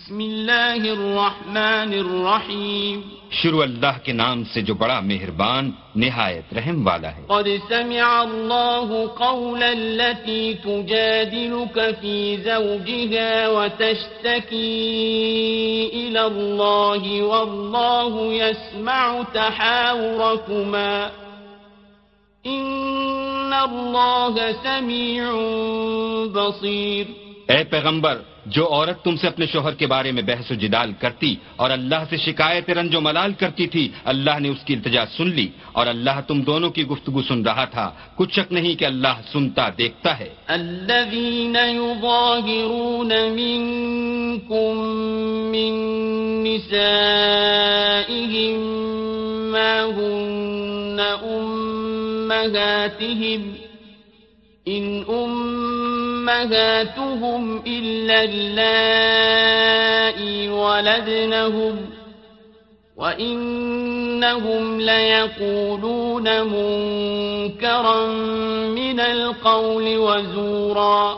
بسم اللہ الرحمن الرحیم شروع اللہ کے نام سے جو بڑا مہربان نہایت رحم والا ہے۔ قد سمع اللہ قول التي تجادلك في زوجها وتشتكي إلى الله والله يسمع تحاوركما إن الله سميع بصير۔ اے پیغمبر، جو عورت تم سے اپنے شوہر کے بارے میں بحث و جدال کرتی اور اللہ سے شکایت رنج و ملال کرتی تھی، اللہ نے اس کی التجا سن لی اور اللہ تم دونوں کی گفتگو سن رہا تھا۔ کچھ شک نہیں کہ اللہ سنتا دیکھتا ہے۔ الذين يظاهرون منكم من نسائهم ما هن أمهاتهم إن أمهاتهم إلا اللائي ولدنهم وإنهم ليقولون منكرا من القول وزورا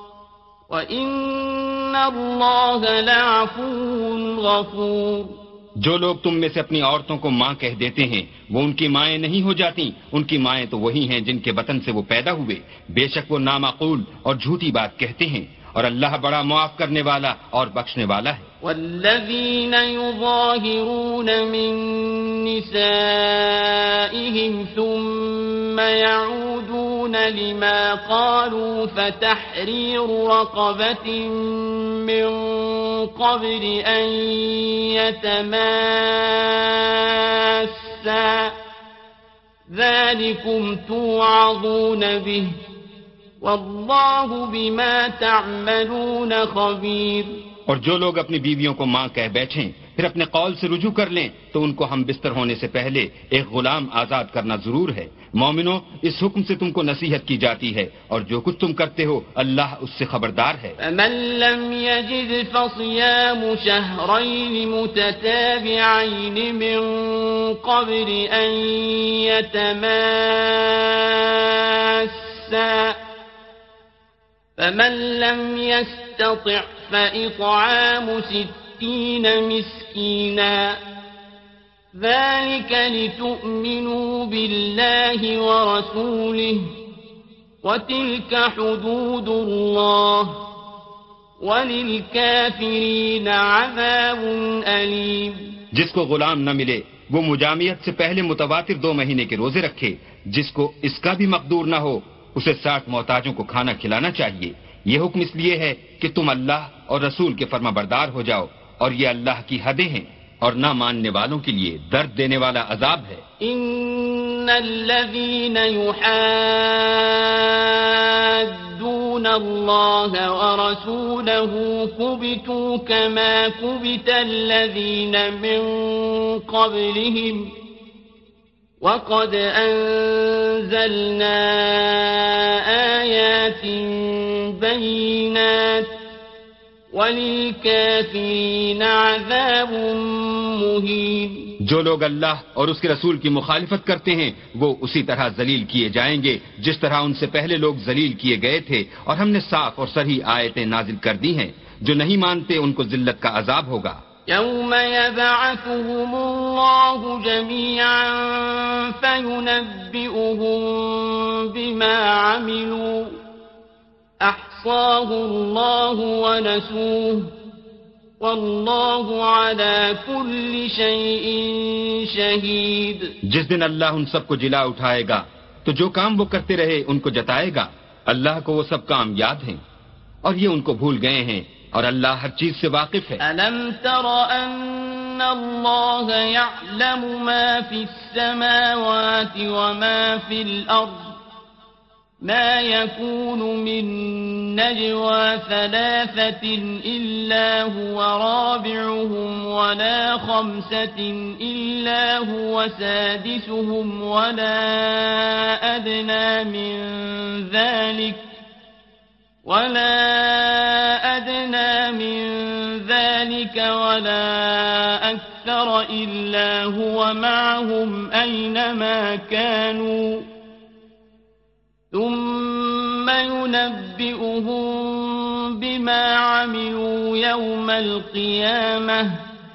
وإن الله لعفو غفور۔ جو لوگ تم میں سے اپنی عورتوں کو ماں کہہ دیتے ہیں وہ ان کی مائیں نہیں ہو جاتی، ان کی مائیں تو وہی ہیں جن کے بطن سے وہ پیدا ہوئے، بے شک وہ نامعقول اور جھوٹی بات کہتے ہیں، اور اللہ بڑا معاف کرنے والا اور بخشنے والا ہے۔ والذین یظاہرون من نسائهم ثم يعودون لما قالوا فتحرير رقبة من قبل أن يتماسا ذلكم توعظون به واللہ بما تعملون خبیر۔ اور جو لوگ اپنی بیویوں کو ماں کہہ بیٹھیں پھر اپنے قول سے رجوع کر لیں تو ان کو ہم بستر ہونے سے پہلے ایک غلام آزاد کرنا ضرور ہے۔ مومنو، اس حکم سے تم کو نصیحت کی جاتی ہے اور جو کچھ تم کرتے ہو اللہ اس سے خبردار ہے۔ فمن لم يجد فصيام شهرين متتابعين من قبل أن يتماسا فمن لم يستطع فإطعام 60 مسكينا ذلك لتؤمنوا بالله ورسوله وتلك حدود الله وللكافرين عذاب أليم۔ جس کو غلام نہ ملے وہ مجامعت سے پہلے متواتر 2 مہینے کے روزے رکھے، جس کو اس کا بھی مقدور نہ ہو اسے 60 محتاجوں کو کھانا کھلانا چاہیے۔ یہ حکم اس لیے ہے کہ تم اللہ اور رسول کے فرما بردار ہو جاؤ، اور یہ اللہ کی حدیں ہیں اور نہ ماننے والوں کے لیے درد دینے والا عذاب ہے۔ ان الذين يحادون الله ورسوله كبتوا كما كبت الذين من قبلهم وقد أنزلنا آيات بينات وَلِلْكَافِرِينَ عَذَابٌ مُهِينٌ۔ جو لوگ اللہ اور اس کے رسول کی مخالفت کرتے ہیں وہ اسی طرح ذلیل کیے جائیں گے جس طرح ان سے پہلے لوگ ذلیل کیے گئے تھے، اور ہم نے صاف اور صریح آیتیں نازل کر دی ہیں۔ جو نہیں مانتے ان کو ذلت کا عذاب ہوگا۔ يَوْمَ يَبْعَثُهُمُ اللَّهُ جَمِيعًا فَيُنَبِّئُهُم بِمَا عَمِلُوا أَحْصَاهُ اللَّهُ وَنَسُوهُ وَاللَّهُ عَلَى كُلِّ شَيْءٍ شَهِيدٌ۔ جس دن اللہ ان سب کو جلا اٹھائے گا تو جو کام وہ کرتے رہے ان کو جتائے گا۔ اللہ کو وہ سب کام یاد ہیں اور یہ ان کو بھول گئے ہیں، اور اللہ ہر چیز سے واقف ہے۔ أَلَمْ تَرَ أَنَّ اللَّهَ يَعْلَمُ مَا فِي السَّمَاوَاتِ وَمَا فِي الْأَرْضِ مَا يَكُونُ مِن نَّجْوَىٰ ثَلَاثَةٍ إِلَّا هُوَ رَابِعُهُمْ وَلَا خَمْسَةٍ إِلَّا هُوَ سَادِسُهُمْ وَلَا أَدْنَىٰ مِن ذَلِكَ وَلَا أَكْثَرَ إِلَّا هُوَ مَعَهُمْ أَيْنَمَا كَانُوا ثُمَّ يُنَبِّئُهُم بما عملوا يوم القيامة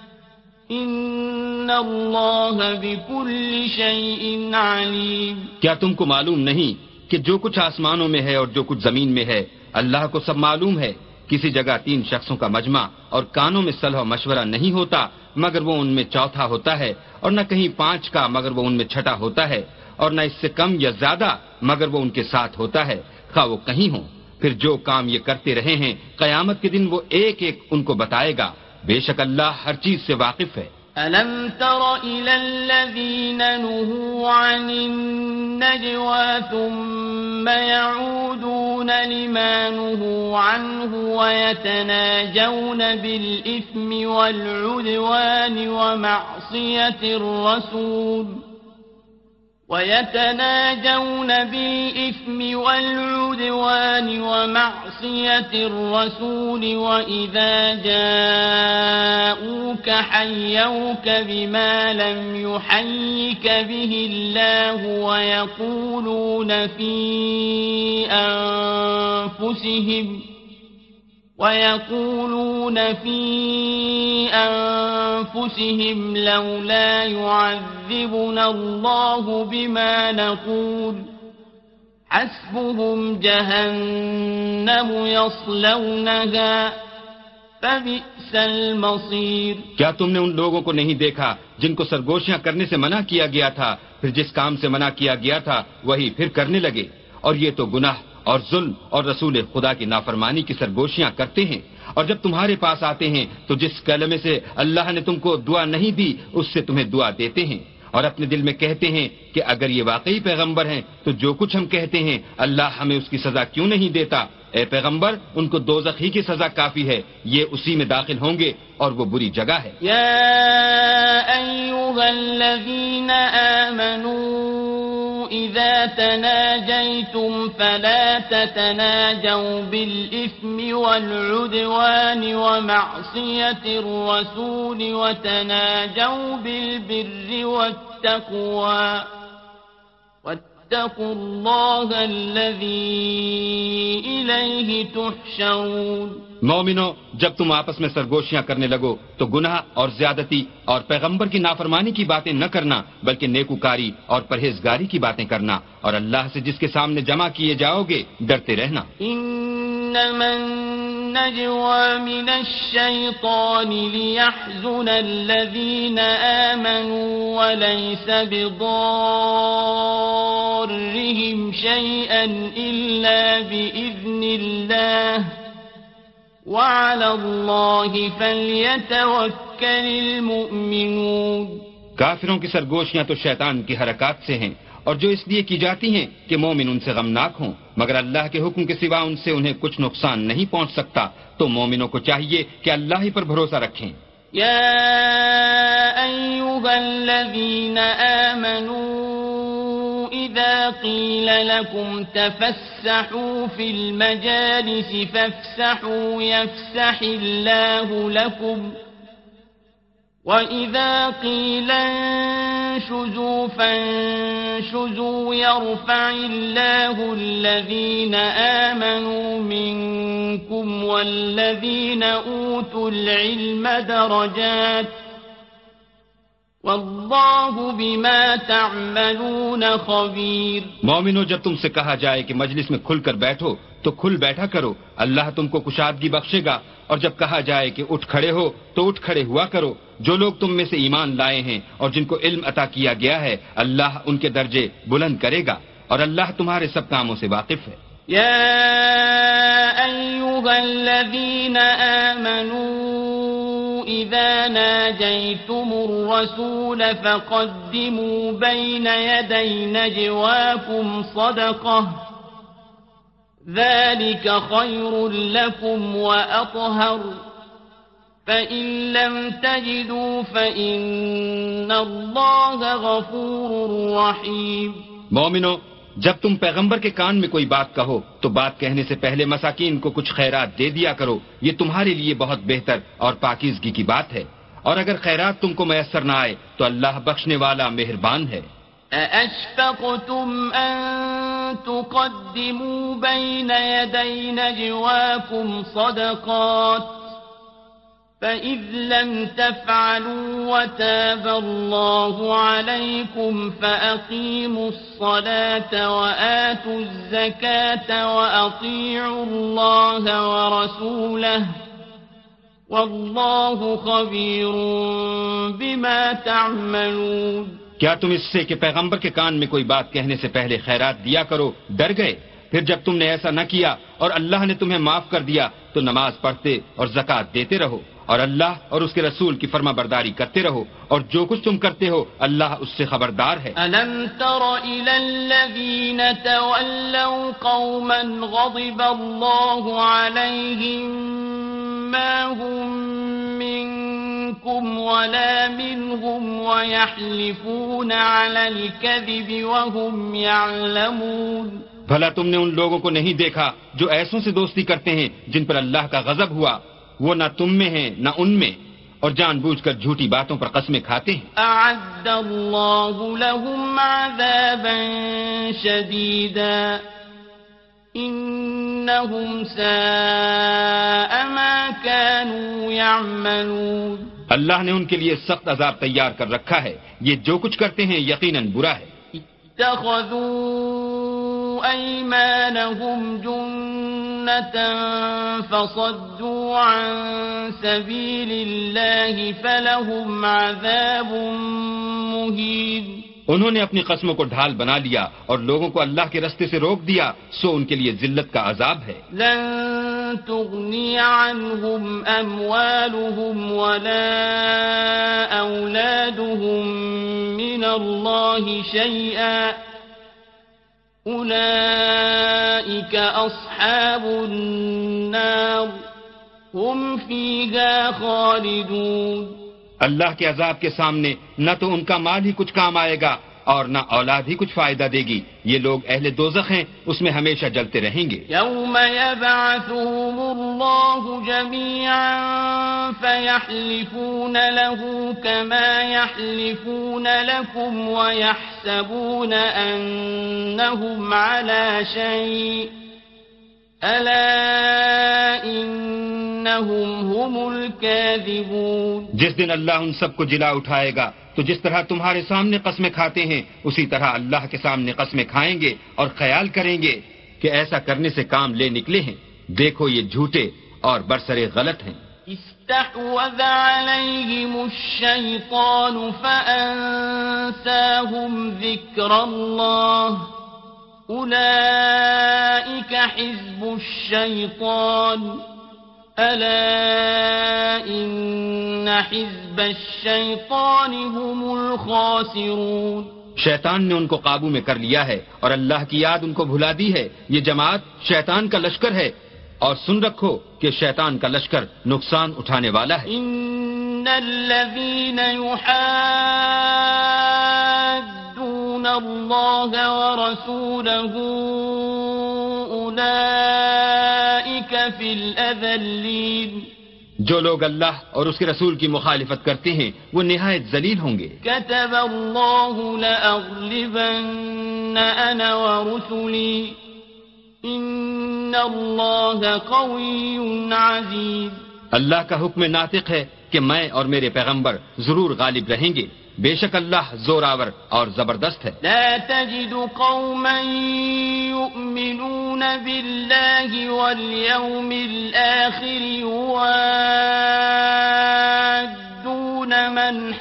إن الله بكل شيء عليم. کیا تم کو معلوم نہیں کہ جو کچھ آسمانوں میں ہے اور جو کچھ زمین میں ہے اللہ کو سب معلوم ہے؟ کسی جگہ 3 شخصوں کا مجمع اور کانوں میں صلح و مشورہ نہیں ہوتا مگر وہ ان میں چوتھا ہوتا ہے، اور نہ کہیں 5 کا مگر وہ ان میں چھٹا ہوتا ہے، اور نہ اس سے کم یا زیادہ مگر وہ ان کے ساتھ ہوتا ہے، خواہ وہ کہیں ہوں. پھر جو کام یہ کرتے رہے ہیں قیامت کے دن وہ ایک ایک ان کو بتائے گا. بے شک اللہ ہر چیز سے واقف ہے. ألم تر إلى الذين نهوا عن النجوى ثم يعودون لما نهوا عنه ويتناجون بالإثم والعدوان ومعصية الرسول وإذا جاءوك حيوك بما لم يحيك به الله ويقولون في أنفسهم لولا يعذبنا الله بما نقول حسبهم جهنم يصلونها فبئس المصير. کیا تم نے ان لوگوں کو نہیں دیکھا جن کو سرگوشیاں کرنے سے منع کیا گیا تھا، پھر جس کام سے منع کیا گیا تھا وہی پھر کرنے لگے؟ اور یہ تو گناہ اور ظلم اور رسول خدا کی نافرمانی کی سرگوشیاں کرتے ہیں. اور جب تمہارے پاس آتے ہیں تو جس کلمے سے اللہ نے تم کو دعا نہیں دی اس سے تمہیں دعا دیتے ہیں، اور اپنے دل میں کہتے ہیں کہ اگر یہ واقعی پیغمبر ہیں تو جو کچھ ہم کہتے ہیں اللہ ہمیں اس کی سزا کیوں نہیں دیتا؟ اے پیغمبر ان کو دوزخ ہی کی سزا کافی ہے، یہ اسی میں داخل ہوں گے اور وہ بری جگہ ہے. یا ایھا الذین آمنوا اذا تناجیتم فلا تتناجوا بالإثم والعدوان ومعصية الرسول وتناجوا بالبر والتقوى واتقوا الله الذي إليه تحشرون. مومنو جب تم آپس میں سرگوشیاں کرنے لگو تو گناہ اور زیادتی اور پیغمبر کی نافرمانی کی باتیں نہ کرنا بلکہ نیکوکاری اور پرہیزگاری کی باتیں کرنا، اور اللہ سے جس کے سامنے جمع کیے جاؤ گے ڈرتے رہنا. انما النجوى من الشيطان ليحزن الذين آمنوا وليس بضارهم شيئا إلا بإذن الله وعلى الله فليتوكل المؤمنون. کافروں کی سرگوشیاں تو شیطان کی حرکات سے ہیں، اور جو اس لیے کی جاتی ہیں کہ مومن ان سے غمناک ہوں، مگر اللہ کے حکم کے سوا ان سے انہیں کچھ نقصان نہیں پہنچ سکتا. تو مومنوں کو چاہیے کہ اللہ ہی پر بھروسہ رکھیں. یا ایھا الذین آمنوا اذا قیل لکم تفسحوا فی المجالس فافسحوا یفسح اللہ لکم وَإِذَا قِيلَ انشُزُوا فَانشُزُوا يَرْفَعِ اللَّهُ الَّذِينَ آمَنُوا مِنكُمْ وَالَّذِينَ أُوتُوا الْعِلْمَ دَرَجَاتٍ وَاللَّهُ بِمَا تَعْمَلُونَ خَبِيرٌ. مومنو جب تم سے کہا جائے کہ مجلس میں کھل کر بیٹھو تو کھل بیٹھا کرو، اللہ تم کو کشادگی بخشے گا. اور جب کہا جائے کہ اٹھ کھڑے ہو تو اٹھ کھڑے ہوا کرو. جو لوگ تم میں سے ایمان لائے ہیں اور جن کو علم عطا کیا گیا ہے اللہ ان کے درجے بلند کرے گا، اور اللہ تمہارے سب کاموں سے واقف ہے. یا ایھا الذین آمنوا اذا ناجیتم الرسول فقدموا بین یدی نجواکم صدقہ ذلك خير لكم وأطهر فإن لم تجدوا فإن الله غفور رحيم. مومنو جب تم پیغمبر کے کان میں کوئی بات کہو تو بات کہنے سے پہلے مساکین کو کچھ خیرات دے دیا کرو، یہ تمہارے لیے بہت بہتر اور پاکیزگی کی بات ہے. اور اگر خیرات تم کو میسر نہ آئے تو اللہ بخشنے والا مہربان ہے. أَأَشْفَقْتُمْ أَن تقدموا بين يدي نجواكم صدقات فإذ لم تفعلوا وتاب الله عليكم فأقيموا الصلاة وآتوا الزكاة وأطيعوا الله ورسوله والله خبير بما تعملون. کیا تم اس سے کہ پیغمبر کے کان میں کوئی بات کہنے سے پہلے خیرات دیا کرو ڈر گئے؟ پھر جب تم نے ایسا نہ کیا اور اللہ نے تمہیں معاف کر دیا تو نماز پڑھتے اور زکوٰۃ دیتے رہو اور اللہ اور اس کے رسول کی فرما برداری کرتے رہو اور جو کچھ تم کرتے ہو اللہ اس سے خبردار ہے. أَلَمْ تَرَ إِلَى الَّذِينَ تَوَلَّوْا قَوْمًا غَضِبَ اللَّهُ عَلَيْهِمْ مَا هُمْ مِنْكُمْ وَلَا مِنْهُمْ وَيَحْلِفُونَ عَلَى الْكَذِبِ وَهُمْ يَعْلَمُونَ. بھلا تم نے ان لوگوں کو نہیں دیکھا جو ایسوں سے دوستی کرتے ہیں جن پر اللہ کا غضب ہوا، وہ نہ تم میں ہیں نہ ان میں، اور جان بوجھ کر جھوٹی باتوں پر قسمیں کھاتے ہیں. أعد الله لهم عذابا شديدا إنهم ساء ما كانوا يعملون. اللہ نے ان کے لیے سخت عذاب تیار کر رکھا ہے، یہ جو کچھ کرتے ہیں یقیناً برا ہے. اتخذوا أيمانهم جنة فصدوا عن سبيل الله فلهم عذاب مهين. انہوں نے اپنی قسموں کو ڈھال بنا لیا اور لوگوں کو اللہ کے رستے سے روک دیا، سو ان کے لیے ذلت کا عذاب ہے. لن تغني عنهم أموالهم ولا أولادهم من الله شيئا أولئك أصحاب النار هم فيها خالدون. اللہ کے عذاب کے سامنے نہ تو ان کا مال ہی کچھ کام آئے گا اور نہ اولاد ہی کچھ فائدہ دے گی. یہ لوگ اہل دوزخ ہیں، اس میں ہمیشہ جلتے رہیں گے. يوم يبعثهم الله جميعا فيحلفون له كما يحلفون لكم ويحسبون أنهم على شيء ألا إنهم هم الكاذبون. جس دن اللہ ان سب کو جلا اٹھائے گا تو جس طرح تمہارے سامنے قسمیں کھاتے ہیں اسی طرح اللہ کے سامنے قسمیں کھائیں گے اور خیال کریں گے کہ ایسا کرنے سے کام لے نکلے ہیں. دیکھو یہ جھوٹے اور برسرے غلط ہیں. استحوذ عليهم الشيطان فأنساهم ذكر الله أولئك حزب الشيطان ألا إن حزب الشيطان هم الخاسرون. شیطان نے ان کو قابو میں کر لیا ہے اور اللہ کی یاد ان کو بھلا دی ہے. یہ جماعت شیطان کا لشکر ہے اور سن رکھو کہ شیطان کا لشکر نقصان اٹھانے والا ہے. إن الذين يحادون الله ورسوله أولئك في الأذلين. جو لوگ اللہ اور اس کے رسول کی مخالفت کرتے ہیں وہ نہایت ذلیل ہوں گے. كتب الله لأغلبن أنا ورسلي إن الله قوي عزيز. اللہ کا حکم ناطق ہے کہ میں اور میرے پیغمبر ضرور غالب رہیں گے. بے شک اللہ زوراور اور زبردست ہے. لا تجد قوما يؤمنون بالله واليوم الآخر يوادون من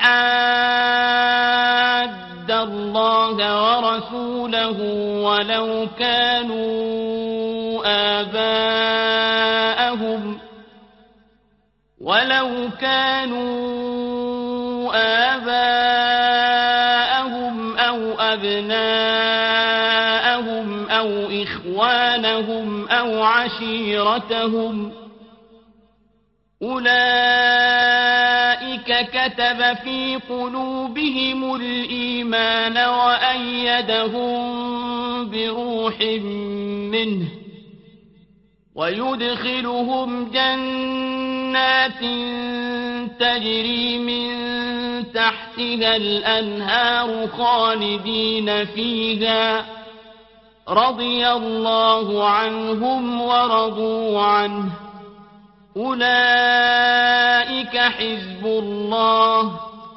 حاد الله ورسوله ولو كانوا آباءهم أو أبناءهم أو إخوانهم أو عشيرتهم أولئك كتب في قلوبهم الإيمان وأيدهم بروح منه ويدخلهم جنات تجري من تحتها الأنهار خالدين فيها رضي الله عنهم ورضوا عنه أولئك حزب الله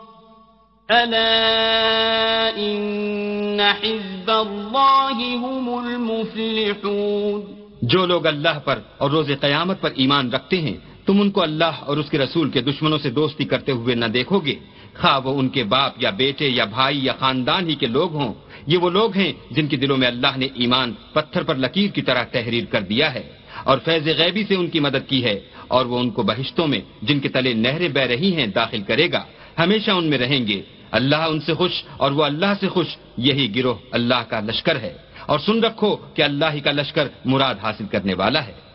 ألا إن حزب الله هم المفلحون. جو لوگ اللہ پر اور روز قیامت پر ایمان رکھتے ہیں تم ان کو اللہ اور اس کے رسول کے دشمنوں سے دوستی کرتے ہوئے نہ دیکھو گے، خواہ وہ ان کے باپ یا بیٹے یا بھائی یا خاندان ہی کے لوگ ہوں. یہ وہ لوگ ہیں جن کے دلوں میں اللہ نے ایمان پتھر پر لکیر کی طرح تحریر کر دیا ہے اور فیض غیبی سے ان کی مدد کی ہے، اور وہ ان کو بہشتوں میں جن کے تلے نہریں بہ رہی ہیں داخل کرے گا، ہمیشہ ان میں رہیں گے. اللہ ان سے خوش اور وہ اللہ سے خوش، یہی گروہ اللہ کا لشکر ہے. اور سن رکھو کہ اللہ ہی کا لشکر مراد حاصل کرنے والا ہے.